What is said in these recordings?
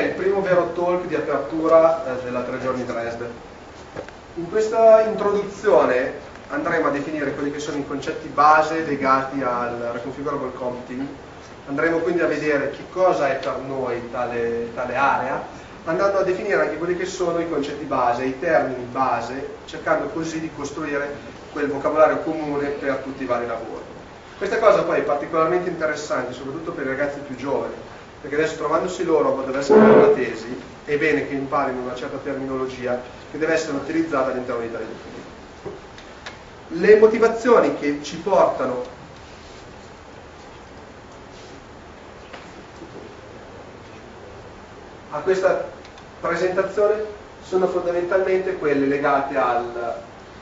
il primo vero talk di apertura della 3 giorni Dresde. In questa introduzione andremo a definire quelli che sono i concetti base legati al Reconfigurable Computing. Andremo quindi a vedere che cosa è per noi tale area, andando a definire anche quelli che sono i concetti base, i termini base, cercando così di costruire quel vocabolario comune per tutti i vari lavori. Questa cosa poi è particolarmente interessante, soprattutto per i ragazzi più giovani, perché adesso trovandosi loro a dover scrivere una tesi, è bene che imparino una certa terminologia che deve essere utilizzata all'interno di tali documenti. Le motivazioni che ci portano a questa presentazione sono fondamentalmente quelle legate allo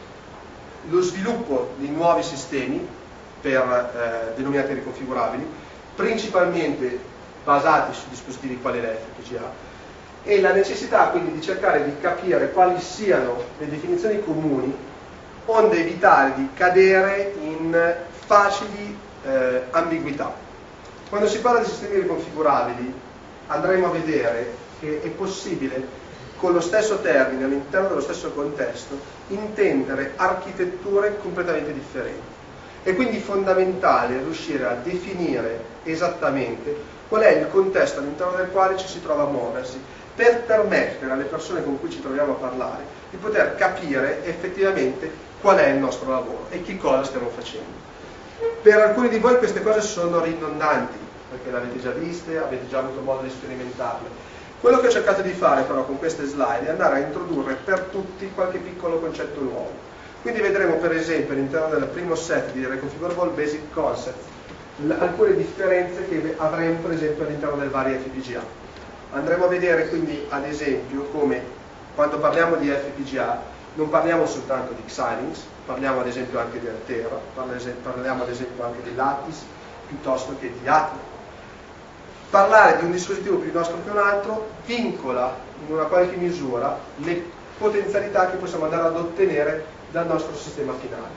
sviluppo di nuovi sistemi denominati riconfigurabili, principalmente basati su dispositivi quali l'FPGA, e la necessità quindi di cercare di capire quali siano le definizioni comuni, onde evitare di cadere in facili ambiguità. Quando si parla di sistemi riconfigurabili andremo a vedere che è possibile, con lo stesso termine, all'interno dello stesso contesto, intendere architetture completamente differenti. È quindi fondamentale riuscire a definire esattamente qual è il contesto all'interno del quale ci si trova a muoversi, per permettere alle persone con cui ci troviamo a parlare di poter capire effettivamente qual è il nostro lavoro e che cosa stiamo facendo. Per alcuni di voi queste cose sono ridondanti, perché le avete già viste, avete già avuto modo di sperimentarle. Quello che ho cercato di fare però con queste slide è andare a introdurre per tutti qualche piccolo concetto nuovo. Quindi vedremo per esempio all'interno del primo set di Reconfigurable Basic Concepts alcune differenze che avremo per esempio all'interno del vari FPGA. Andremo a vedere quindi ad esempio come quando parliamo di FPGA non parliamo soltanto di Xilinx, parliamo ad esempio anche di Altera, parliamo ad esempio anche di Lattice piuttosto che di Atmel. Parlare di un dispositivo più nostro che un altro vincola in una qualche misura le potenzialità che possiamo andare ad ottenere dal nostro sistema finale.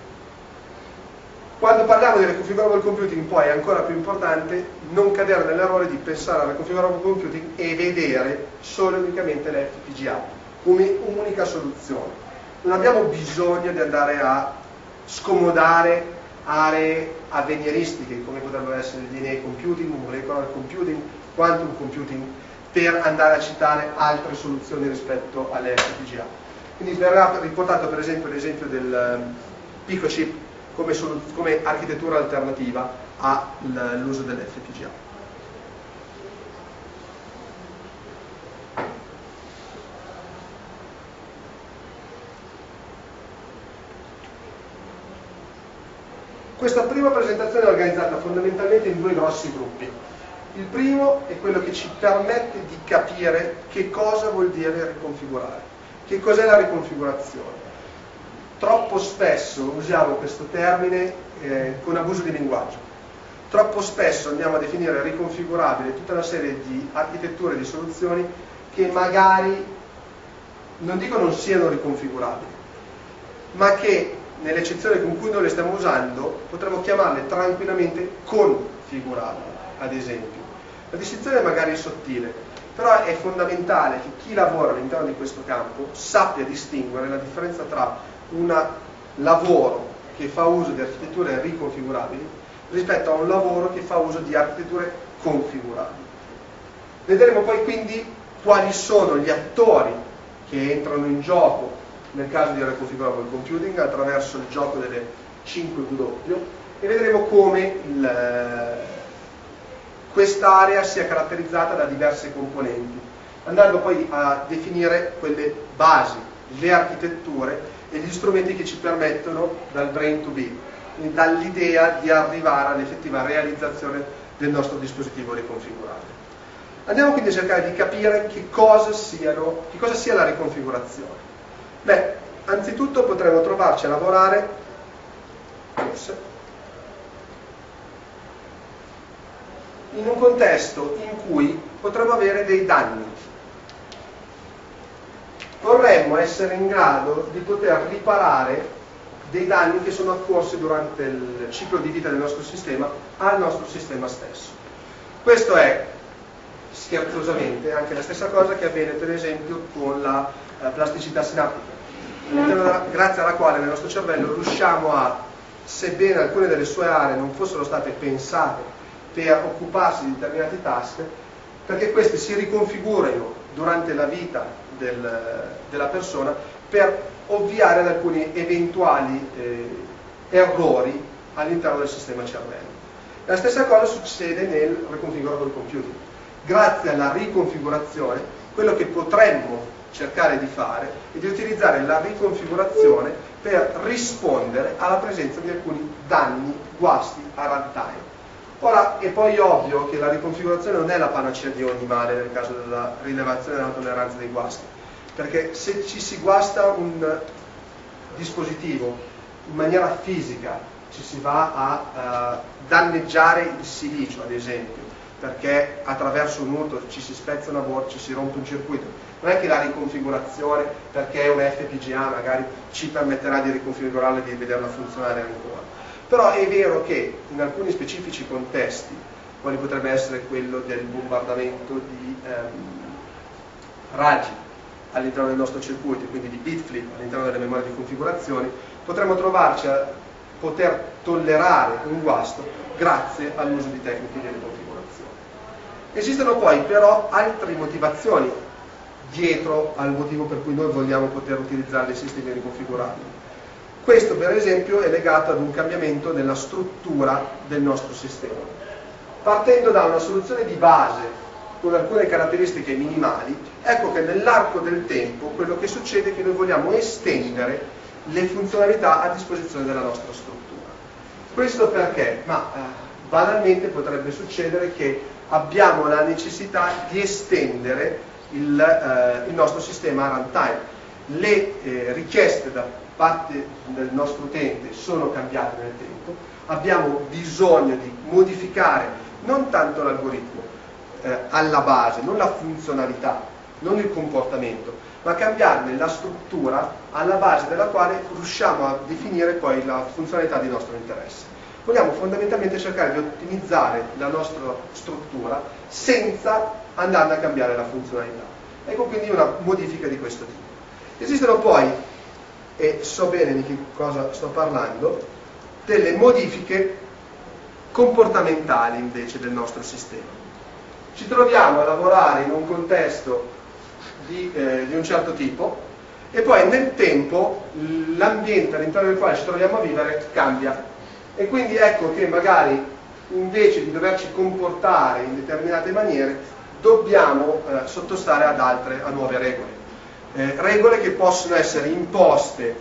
Quando parliamo di Reconfigurable Computing poi è ancora più importante non cadere nell'errore di pensare al Reconfigurable Computing e vedere solo e unicamente l'FPGA come unica soluzione. Non abbiamo bisogno di andare a scomodare aree avveniristiche come potrebbero essere il DNA computing, molecular computing, quantum computing, per andare a citare altre soluzioni rispetto alle FPGA. Quindi verrà riportato per esempio l'esempio del PicoChip come architettura alternativa all'uso dell'FPGA. Questa prima presentazione è organizzata fondamentalmente in due grossi gruppi. Il primo è quello che ci permette di capire che cosa vuol dire riconfigurare, che cos'è la riconfigurazione. Troppo spesso usiamo questo termine con abuso di linguaggio. Troppo spesso andiamo a definire riconfigurabile tutta una serie di architetture e di soluzioni che magari, non dico non siano riconfigurabili, ma che nell'eccezione con cui noi le stiamo usando potremmo chiamarle tranquillamente configurabili, ad esempio. La distinzione è magari sottile, però è fondamentale che chi lavora all'interno di questo campo sappia distinguere la differenza tra un lavoro che fa uso di architetture riconfigurabili rispetto a un lavoro che fa uso di architetture configurabili. Vedremo poi quindi quali sono gli attori che entrano in gioco nel caso di Reconfigurable Computing attraverso il gioco delle 5W e vedremo come quest'area sia caratterizzata da diverse componenti, andando poi a definire quelle basi, le architetture e gli strumenti che ci permettono dal brain to be, quindi dall'idea di arrivare all'effettiva realizzazione del nostro dispositivo riconfigurabile. Andiamo quindi a cercare di capire che cosa sia la riconfigurazione. Beh, anzitutto potremmo trovarci a lavorare in un contesto in cui potremmo avere dei danni. Vorremmo essere in grado di poter riparare dei danni che sono occorsi durante il ciclo di vita del nostro sistema al nostro sistema stesso. Questo è scherzosamente anche la stessa cosa che avviene per esempio con la plasticità sinaptica, grazie alla quale nel nostro cervello riusciamo a, sebbene alcune delle sue aree non fossero state pensate per occuparsi di determinati task, perché queste si riconfigurino durante la vita della persona per ovviare ad alcuni eventuali errori all'interno del sistema cervello. La stessa cosa succede nel riconfigurable computing. Grazie alla riconfigurazione, quello che potremmo cercare di fare è di utilizzare la riconfigurazione per rispondere alla presenza di alcuni danni, guasti a runtime. Ora, è poi ovvio che la riconfigurazione non è la panacea di ogni male nel caso della rilevazione della tolleranza dei guasti, perché se ci si guasta un dispositivo in maniera fisica, ci si va a danneggiare il silicio, ad esempio, perché attraverso un urto ci si spezza una board, ci si rompe un circuito. Non è che la riconfigurazione, perché è un FPGA, magari ci permetterà di riconfigurarla e di vederla funzionare ancora. Però è vero che in alcuni specifici contesti, quali potrebbe essere quello del bombardamento di raggi all'interno del nostro circuito, quindi di bit flip all'interno delle memorie di configurazione, potremmo trovarci a poter tollerare un guasto grazie all'uso di tecniche di riconfigurazione. Esistono poi però altre motivazioni dietro al motivo per cui noi vogliamo poter utilizzare dei sistemi riconfigurabili. Questo per esempio è legato ad un cambiamento nella struttura del nostro sistema. Partendo da una soluzione di base con alcune caratteristiche minimali, ecco che nell'arco del tempo quello che succede è che noi vogliamo estendere le funzionalità a disposizione della nostra struttura. Questo perché? Banalmente potrebbe succedere che abbiamo la necessità di estendere il nostro sistema a runtime. Le richieste da parte del nostro utente sono cambiate nel tempo, abbiamo bisogno di modificare non tanto l'algoritmo alla base, non la funzionalità, non il comportamento, ma cambiarne la struttura alla base della quale riusciamo a definire poi la funzionalità di nostro interesse. Vogliamo fondamentalmente cercare di ottimizzare la nostra struttura senza andare a cambiare la funzionalità. Ecco quindi una modifica di questo tipo. Esistono poi, e so bene di che cosa sto parlando, delle modifiche comportamentali invece del nostro sistema. Ci troviamo a lavorare in un contesto di un certo tipo e poi nel tempo l'ambiente all'interno del quale ci troviamo a vivere cambia e quindi ecco che magari invece di doverci comportare in determinate maniere dobbiamo sottostare a nuove regole, regole che possono essere imposte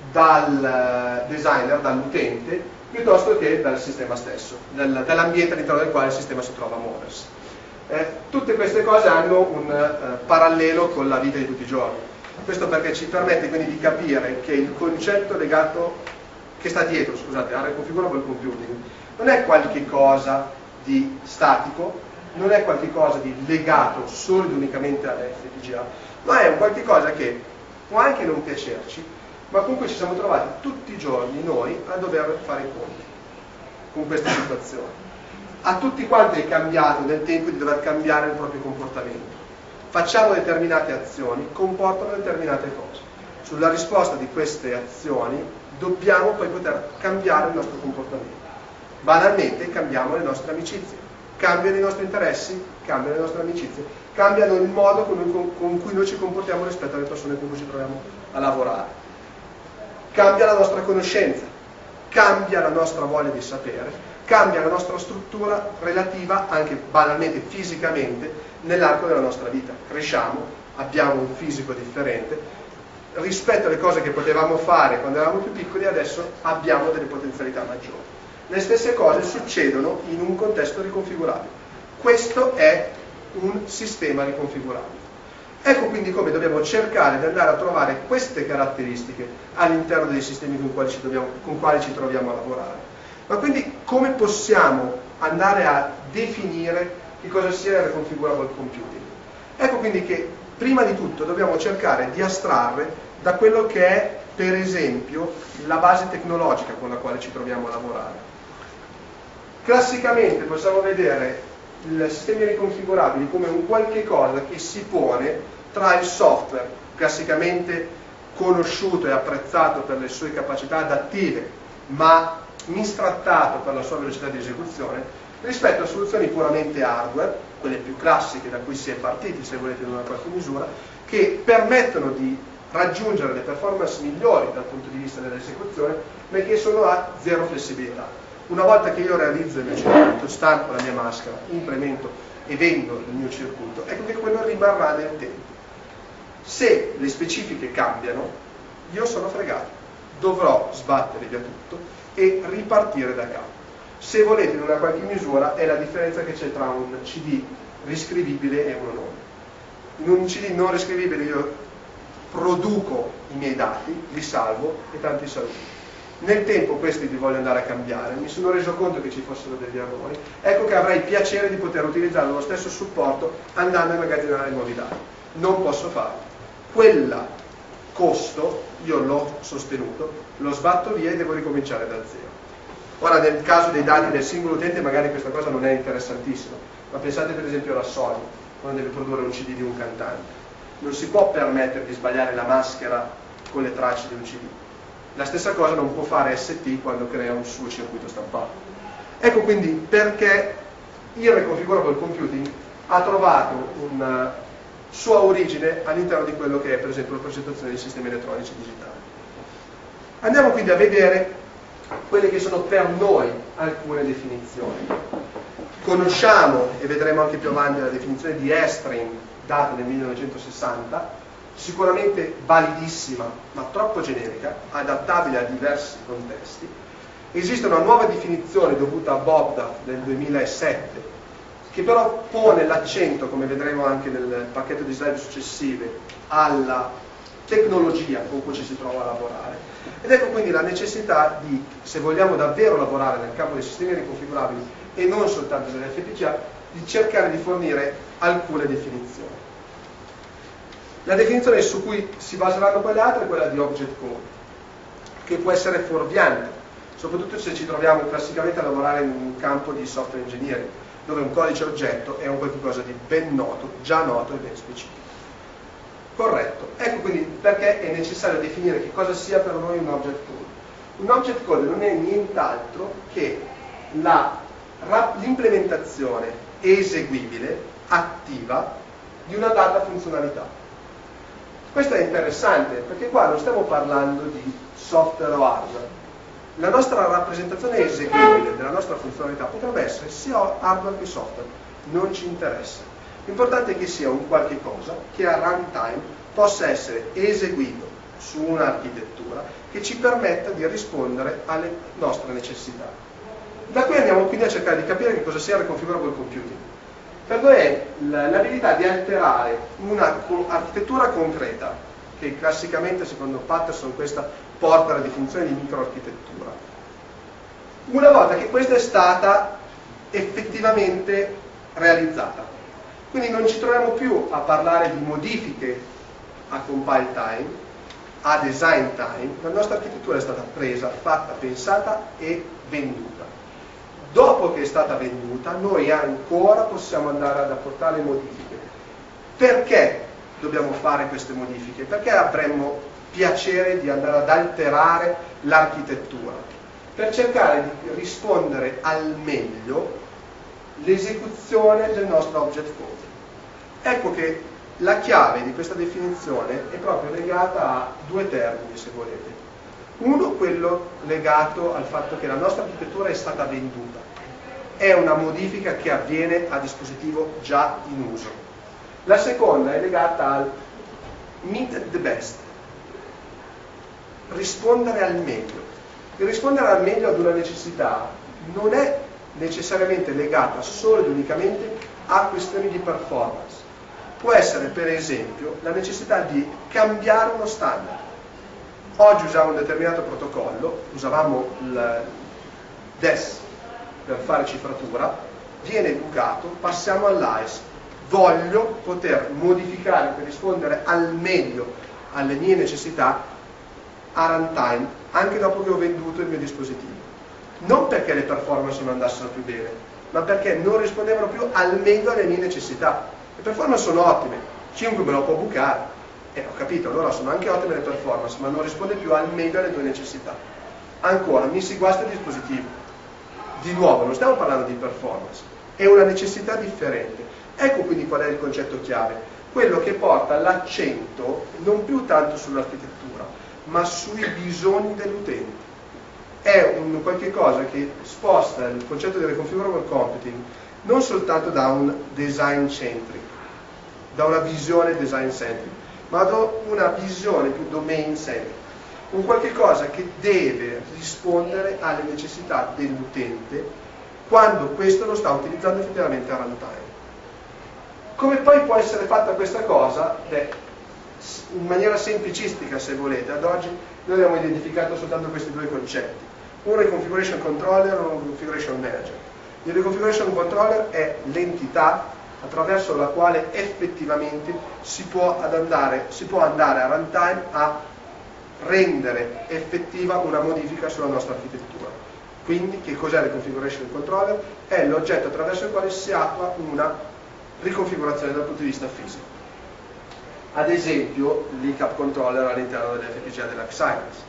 dal designer, dall'utente, piuttosto che dal sistema stesso, dall'ambiente all'interno del quale il sistema si trova a muoversi. Tutte queste cose hanno un parallelo con la vita di tutti i giorni. Questo perché ci permette quindi di capire che il concetto che sta dietro, al riconfigurable computing, non è qualche cosa di statico, non è qualche cosa di legato solo ed unicamente all'FPGA, ma è un qualche cosa che può anche non piacerci, ma comunque ci siamo trovati tutti i giorni noi a dover fare i conti con questa situazione. A tutti quanti è cambiato nel tempo di dover cambiare il proprio comportamento. Facciamo determinate azioni, comportano determinate cose. Sulla risposta di queste azioni dobbiamo poi poter cambiare il nostro comportamento. Banalmente cambiamo le nostre amicizie, cambiano i nostri interessi, cambiano le nostre amicizie, cambiano il modo con cui noi ci comportiamo rispetto alle persone con cui ci troviamo a lavorare. Cambia la nostra conoscenza, cambia la nostra voglia di sapere, cambia la nostra struttura relativa anche banalmente fisicamente nell'arco della nostra vita. Cresciamo, abbiamo un fisico differente, rispetto alle cose che potevamo fare quando eravamo più piccoli adesso abbiamo delle potenzialità maggiori. Le stesse cose succedono in un contesto riconfigurabile. Questo è un sistema riconfigurabile. Ecco quindi come dobbiamo cercare di andare a trovare queste caratteristiche all'interno dei sistemi con quali ci troviamo a lavorare. Ma quindi come possiamo andare a definire che cosa sia il riconfigurable computing? Ecco quindi che prima di tutto dobbiamo cercare di astrarre da quello che è per esempio la base tecnologica con la quale ci troviamo a lavorare. Classicamente possiamo vedere i sistemi riconfigurabili come un qualche cosa che si pone tra il software classicamente conosciuto e apprezzato per le sue capacità adattive, ma mistrattato per la sua velocità di esecuzione, rispetto a soluzioni puramente hardware, quelle più classiche da cui si è partiti, se volete, in una qualche misura, che permettono di raggiungere le performance migliori dal punto di vista dell'esecuzione, ma che sono a zero flessibilità. Una volta che io realizzo il mio circuito, stampo la mia maschera, implemento e vendo il mio circuito, ecco che quello rimarrà nel tempo. Se le specifiche cambiano, io sono fregato, dovrò sbattere via tutto e ripartire da capo. Se volete, in una qualche misura, è la differenza che c'è tra un CD riscrivibile e uno non. In un CD non riscrivibile io produco i miei dati, li salvo e tanti saluti. Nel tempo questi li voglio andare a cambiare, mi sono reso conto che ci fossero degli errori, ecco che avrei piacere di poter utilizzare lo stesso supporto andando a immagazzinare nuovi dati. Non posso farlo. Quel costo io l'ho sostenuto, lo sbatto via e devo ricominciare da zero. Ora, nel caso dei dati del singolo utente magari questa cosa non è interessantissima, ma pensate per esempio alla Sony, quando deve produrre un CD di un cantante. Non si può permettere di sbagliare la maschera con le tracce di un CD. La stessa cosa non può fare ST quando crea un suo circuito stampato. Ecco quindi perché il reconfigurable computing ha trovato una sua origine all'interno di quello che è per esempio la progettazione dei sistemi elettronici digitali. Andiamo quindi a vedere quelle che sono per noi alcune definizioni. Conosciamo, e vedremo anche più avanti, la definizione di Estrin data nel 1960, sicuramente validissima, ma troppo generica, adattabile a diversi contesti. Esiste una nuova definizione dovuta a Bobda del 2007, che però pone l'accento, come vedremo anche nel pacchetto di slide successive, alla tecnologia con cui ci si trova a lavorare. Ed ecco quindi la necessità di, se vogliamo davvero lavorare nel campo dei sistemi riconfigurabili e non soltanto dell'FPGA, di cercare di fornire alcune definizioni. La definizione su cui si baseranno quelle altre è quella di object code, che può essere fuorviante, soprattutto se ci troviamo classicamente a lavorare in un campo di software engineering, dove un codice oggetto è un qualcosa di ben noto, già noto e ben specifico. Corretto. Ecco quindi perché è necessario definire che cosa sia per noi un object code. Un object code non è nient'altro che l'implementazione eseguibile, attiva, di una data funzionalità. Questo è interessante perché qua non stiamo parlando di software o hardware. La nostra rappresentazione eseguibile della nostra funzionalità potrebbe essere sia hardware che software, non ci interessa. L'importante è che sia un qualche cosa che a runtime possa essere eseguito su un'architettura che ci permetta di rispondere alle nostre necessità. Da qui andiamo quindi a cercare di capire che cosa sia il reconfigurable computing. Per noi è l'abilità di alterare un'architettura concreta, che classicamente secondo Patterson questa porta alla definizione di microarchitettura. Una volta che questa è stata effettivamente realizzata. Quindi non ci troviamo più a parlare di modifiche a compile time, a design time. La nostra architettura è stata presa, fatta, pensata e venduta. Dopo che è stata venduta, noi ancora possiamo andare ad apportare modifiche. Perché dobbiamo fare queste modifiche? Perché avremmo piacere di andare ad alterare l'architettura? Per cercare di rispondere al meglio l'esecuzione del nostro object code. Ecco che la chiave di questa definizione è proprio legata a due termini, se volete. Uno, quello legato al fatto che la nostra architettura è stata venduta. È una modifica che avviene a dispositivo già in uso. La seconda è legata al meet the best. Rispondere al meglio. Il rispondere al meglio ad una necessità non è necessariamente legata solo ed unicamente a questioni di performance. Può essere per esempio la necessità di cambiare uno standard. Oggi usiamo un determinato protocollo, usavamo il DES per fare cifratura, viene educato, passiamo all'AES. Voglio poter modificare per rispondere al meglio alle mie necessità a runtime, anche dopo che ho venduto il mio dispositivo. Non perché le performance non andassero più bene, ma perché non rispondevano più al meglio alle mie necessità. Le performance sono ottime, chiunque me lo può bucare, ho capito, allora sono anche ottime le performance, ma non risponde più al meglio alle tue necessità. Ancora, mi si guasta il dispositivo. Di nuovo, non stiamo parlando di performance, è una necessità differente. Ecco quindi qual è il concetto chiave, quello che porta l'accento non più tanto sull'architettura, ma sui bisogni dell'utente. È un qualche cosa che sposta il concetto di reconfigurable computing non soltanto da un design centric, da una visione design centric, ma da una visione più domain centric, un qualche cosa che deve rispondere alle necessità dell'utente quando questo lo sta utilizzando effettivamente a runtime. Come poi può essere fatta questa cosa? Beh, in maniera semplicistica, se volete. Ad oggi noi abbiamo identificato soltanto questi due concetti, un reconfiguration controller e un configuration manager. Il reconfiguration controller è l'entità attraverso la quale effettivamente si può andare a runtime a rendere effettiva una modifica sulla nostra architettura. Quindi che cos'è il configuration controller? È l'oggetto attraverso il quale si attua una riconfigurazione dal punto di vista fisico. Ad esempio l'ICAP controller all'interno dell'FPGA dell'Xilinx.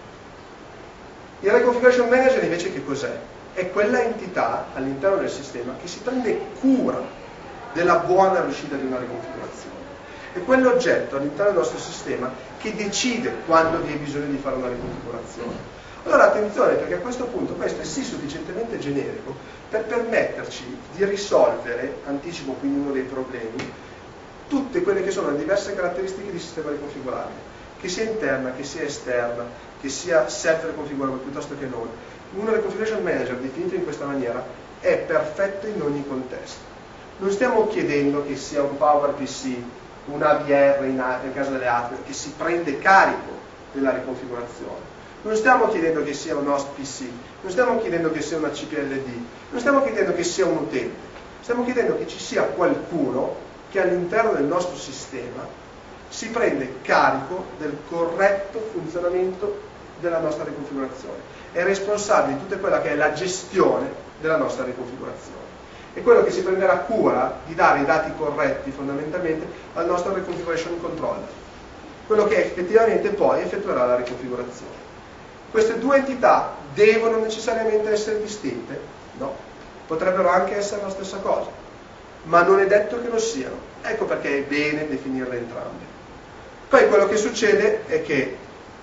Il reconfiguration manager invece che cos'è? È quella entità all'interno del sistema che si prende cura della buona riuscita di una riconfigurazione. È quell'oggetto all'interno del nostro sistema che decide quando vi è bisogno di fare una riconfigurazione. Allora attenzione, perché a questo punto questo è sì sufficientemente generico per permetterci di risolvere, anticipo quindi uno dei problemi, tutte quelle che sono le diverse caratteristiche di sistema riconfigurabile, che sia interna, che sia esterna, che sia self-reconfigurable piuttosto che non. Un reconfiguration manager definito in questa maniera è perfetto in ogni contesto. Non stiamo chiedendo che sia un PowerPC, un AVR nel caso delle altre, che si prende carico della riconfigurazione. Non stiamo chiedendo che sia un host PC, non stiamo chiedendo che sia una CPLD, non stiamo chiedendo che sia un utente, stiamo chiedendo che ci sia qualcuno che all'interno del nostro sistema si prende carico del corretto funzionamento della nostra riconfigurazione, è responsabile di tutta quella che è la gestione della nostra riconfigurazione. È quello che si prenderà cura di dare i dati corretti fondamentalmente al nostro reconfiguration controller, quello che effettivamente poi effettuerà la riconfigurazione. Queste due entità devono necessariamente essere distinte? No, potrebbero anche essere la stessa cosa, ma non è detto che lo siano. Ecco perché è bene definirle entrambe. Poi quello che succede è che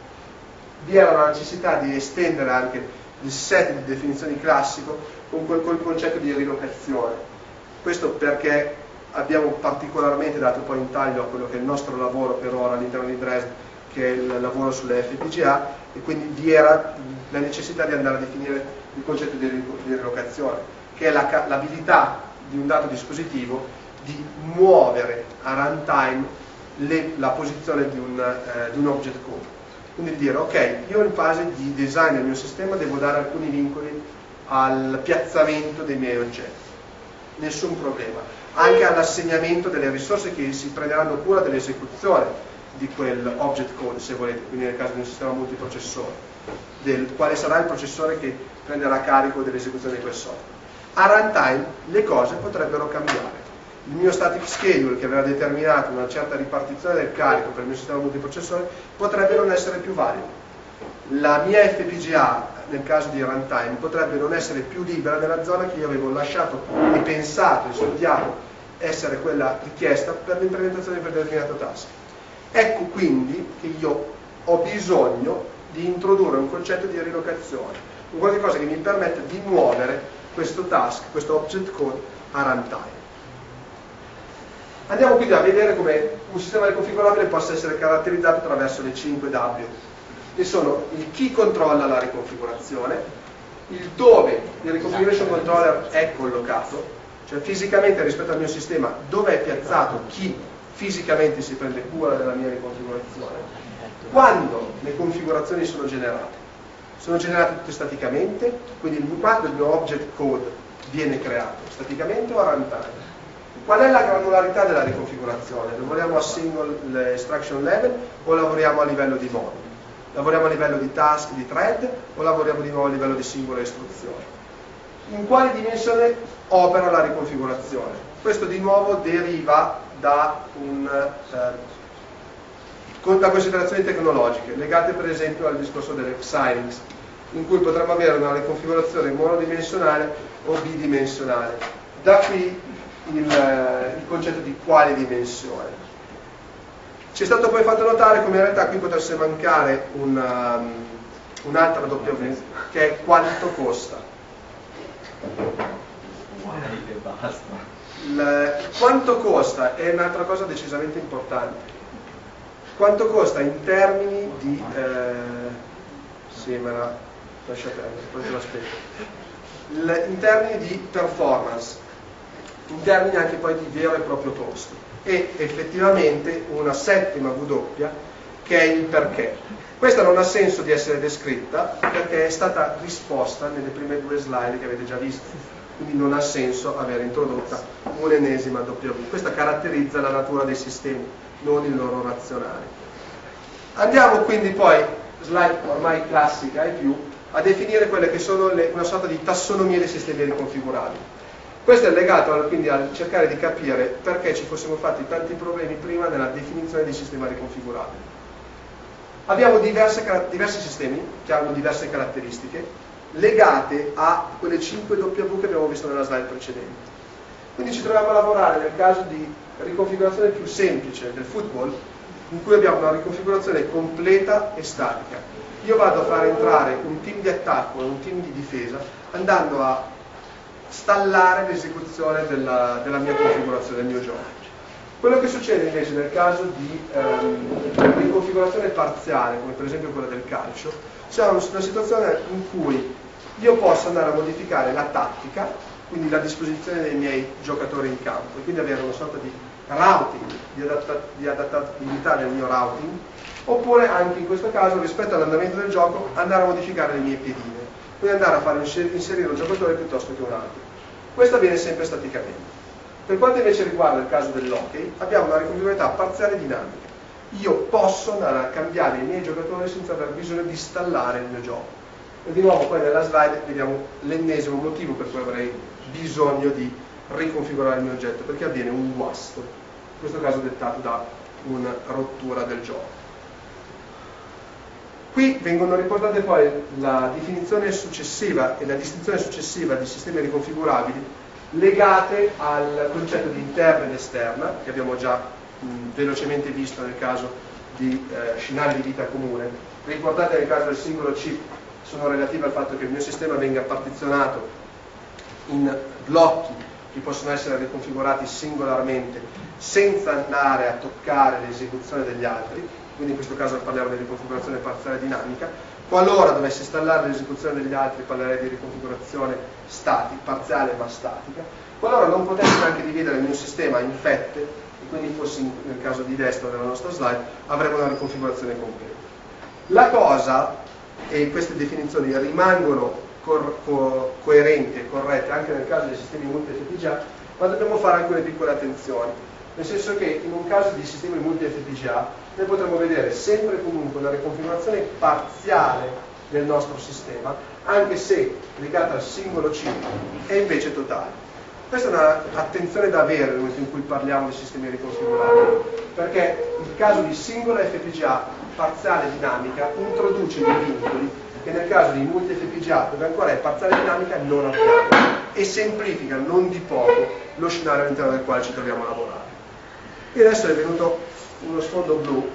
vi era la necessità di estendere anche il set di definizioni classico col concetto di rilocazione. Questo perché abbiamo particolarmente dato poi in taglio a quello che è il nostro lavoro per ora all'interno di Dresde, che è il lavoro sulle FPGA, e quindi vi era la necessità di andare a definire il concetto di rilocazione, che è l'abilità di un dato dispositivo di muovere a runtime la posizione di un object code. Quindi dire, ok, io in fase di design del mio sistema devo dare alcuni vincoli al piazzamento dei miei oggetti, nessun problema, anche all'assegnamento delle risorse che si prenderanno cura dell'esecuzione di quel object code, se volete, quindi nel caso di un sistema multiprocessore, del quale sarà il processore che prenderà carico dell'esecuzione di quel software. A runtime le cose potrebbero cambiare. Il mio static schedule, che aveva determinato una certa ripartizione del carico per il mio sistema multiprocessore, potrebbe non essere più valido. La mia FPGA, nel caso di runtime, potrebbe non essere più libera nella zona che io avevo lasciato e pensato e studiato essere quella richiesta per l'implementazione di quel determinato task. Ecco quindi che io ho bisogno di introdurre un concetto di rilocazione, un qualcosa che mi permette di muovere questo task, questo object code a runtime. Andiamo quindi a vedere come un sistema riconfigurabile possa essere caratterizzato attraverso le 5 W, che sono il chi controlla la riconfigurazione, il dove il reconfiguration controller è collocato, cioè fisicamente rispetto al mio sistema dove è piazzato chi fisicamente si prende cura della mia riconfigurazione, quando le configurazioni sono generate tutte staticamente, quindi quando il mio object code viene creato, staticamente o a runtime. Qual è la granularità della riconfigurazione? Lavoriamo a single extraction level o lavoriamo a livello di moduli? Lavoriamo a livello di task, di thread o lavoriamo di nuovo a livello di singole istruzioni? in quale dimensione opera la riconfigurazione. Questo di nuovo deriva da considerazioni tecnologiche, legate per esempio al discorso delle Xilinx, in cui potremmo avere una riconfigurazione monodimensionale o bidimensionale. Da qui il concetto di quale dimensione. Ci è stato poi fatto notare come in realtà qui potesse mancare un'altra W, che è quanto costa. Quanto costa è un'altra cosa decisamente importante. Quanto costa in termini di sì, me la lascia perdere, poi te lo spiego. In termini di performance, in termini anche poi di vero e proprio costo, e effettivamente una settima W che è il perché. Questa non ha senso di essere descritta perché è stata risposta nelle prime due slide che avete già visto, quindi non ha senso aver introdotta un'ennesima W. Questa caratterizza la natura dei sistemi, non il loro razionale. Andiamo quindi poi, slide ormai classica e più, a definire quelle che sono una sorta di tassonomia dei sistemi riconfigurabili. Questo è legato quindi a cercare di capire perché ci fossimo fatti tanti problemi prima nella definizione di sistema riconfigurabile. Abbiamo diversi sistemi che hanno diverse caratteristiche legate a quelle 5 W che abbiamo visto nella slide precedente. Quindi ci troviamo a lavorare nel caso di riconfigurazione più semplice del football, in cui abbiamo una riconfigurazione completa e statica. Io vado a far entrare un team di attacco e un team di difesa andando a stallare l'esecuzione della mia configurazione, del mio gioco. Quello che succede invece nel caso di riconfigurazione parziale, come per esempio quella del calcio, siamo in una situazione in cui io posso andare a modificare la tattica, quindi la disposizione dei miei giocatori in campo, e quindi avere una sorta di routing, di adattabilità del mio routing, oppure anche in questo caso rispetto all'andamento del gioco andare a modificare le mie piedine, quindi andare a fare inserire un giocatore piuttosto che un altro. Questo avviene sempre staticamente. Per quanto invece riguarda il caso dell'hockey, abbiamo una riconfigurabilità parziale dinamica. Io posso andare a cambiare i miei giocatori senza aver bisogno di installare il mio gioco. E di nuovo poi nella slide vediamo l'ennesimo motivo per cui avrei bisogno di riconfigurare il mio oggetto, perché avviene un guasto, in questo caso dettato da una rottura del gioco. Qui vengono riportate poi la definizione successiva e la distinzione successiva di sistemi riconfigurabili legate al concetto di interna ed esterna, che abbiamo già velocemente visto nel caso di scenari di vita comune. Ricordate nel caso del singolo chip sono relative al fatto che il mio sistema venga partizionato in blocchi che possono essere riconfigurati singolarmente senza andare a toccare l'esecuzione degli altri, quindi in questo caso parliamo di riconfigurazione parziale dinamica. Qualora dovessi installare l'esecuzione degli altri parlerei di riconfigurazione parziale ma statica. Qualora non potessi anche dividere il mio sistema in fette, e quindi fossi nel caso di destra della nostra slide, avremo una riconfigurazione completa. La cosa, e queste definizioni rimangono coerenti e corrette anche nel caso dei sistemi multi-FPGA, ma dobbiamo fare alcune piccole attenzioni, nel senso che in un caso di sistemi multi-FPGA noi potremo vedere sempre e comunque una riconfigurazione parziale del nostro sistema, anche se legata al singolo chip è invece totale. Questa è un'attenzione da avere nel momento in cui parliamo di sistemi riconfigurabili, perché il caso di singola FPGA parziale dinamica introduce dei vincoli che nel caso di multi FPGA, dove ancora è parziale dinamica, non abbiamo, e semplifica non di poco lo scenario all'interno del quale ci troviamo a lavorare. E adesso è venuto uno sfondo blu,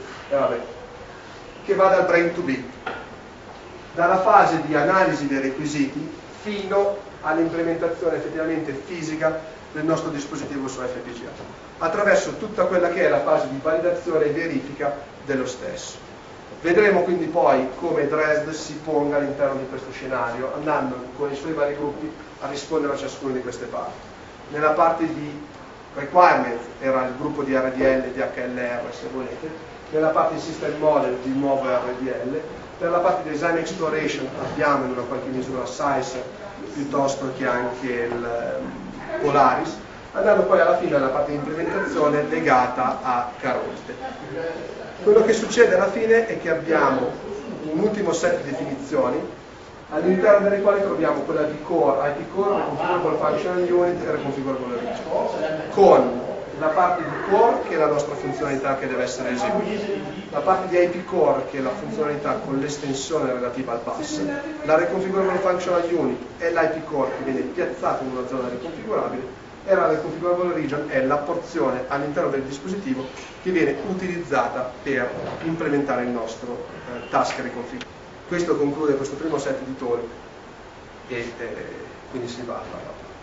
che va dal brain to bit, dalla fase di analisi dei requisiti fino all'implementazione effettivamente fisica del nostro dispositivo su FPGA, attraverso tutta quella che è la fase di validazione e verifica dello stesso. Vedremo quindi poi come Dresd si ponga all'interno di questo scenario, andando con i suoi vari gruppi a rispondere a ciascuna di queste parti. Nella parte di requirement era il gruppo di RDL e di HLR, se volete, nella parte di system model di nuovo RDL, per la parte di design exploration abbiamo in una qualche misura Sicer piuttosto che anche il Polaris, andando poi alla fine alla parte di implementazione legata a Caronte. Quello che succede alla fine è che abbiamo un ultimo set di definizioni all'interno delle quali troviamo quella di Core, IP Core, Reconfigurable Functional Unit e Reconfigurable Region, con la parte di Core che è la nostra funzionalità che deve essere eseguita, la parte di IP Core che è la funzionalità con l'estensione relativa al bus, la Reconfigurable Functional Unit è l'IP Core che viene piazzato in una zona riconfigurabile e la Reconfigurable Region è la porzione all'interno del dispositivo che viene utilizzata per implementare il nostro task reconfig. Questo conclude questo primo set di talk e quindi si va alla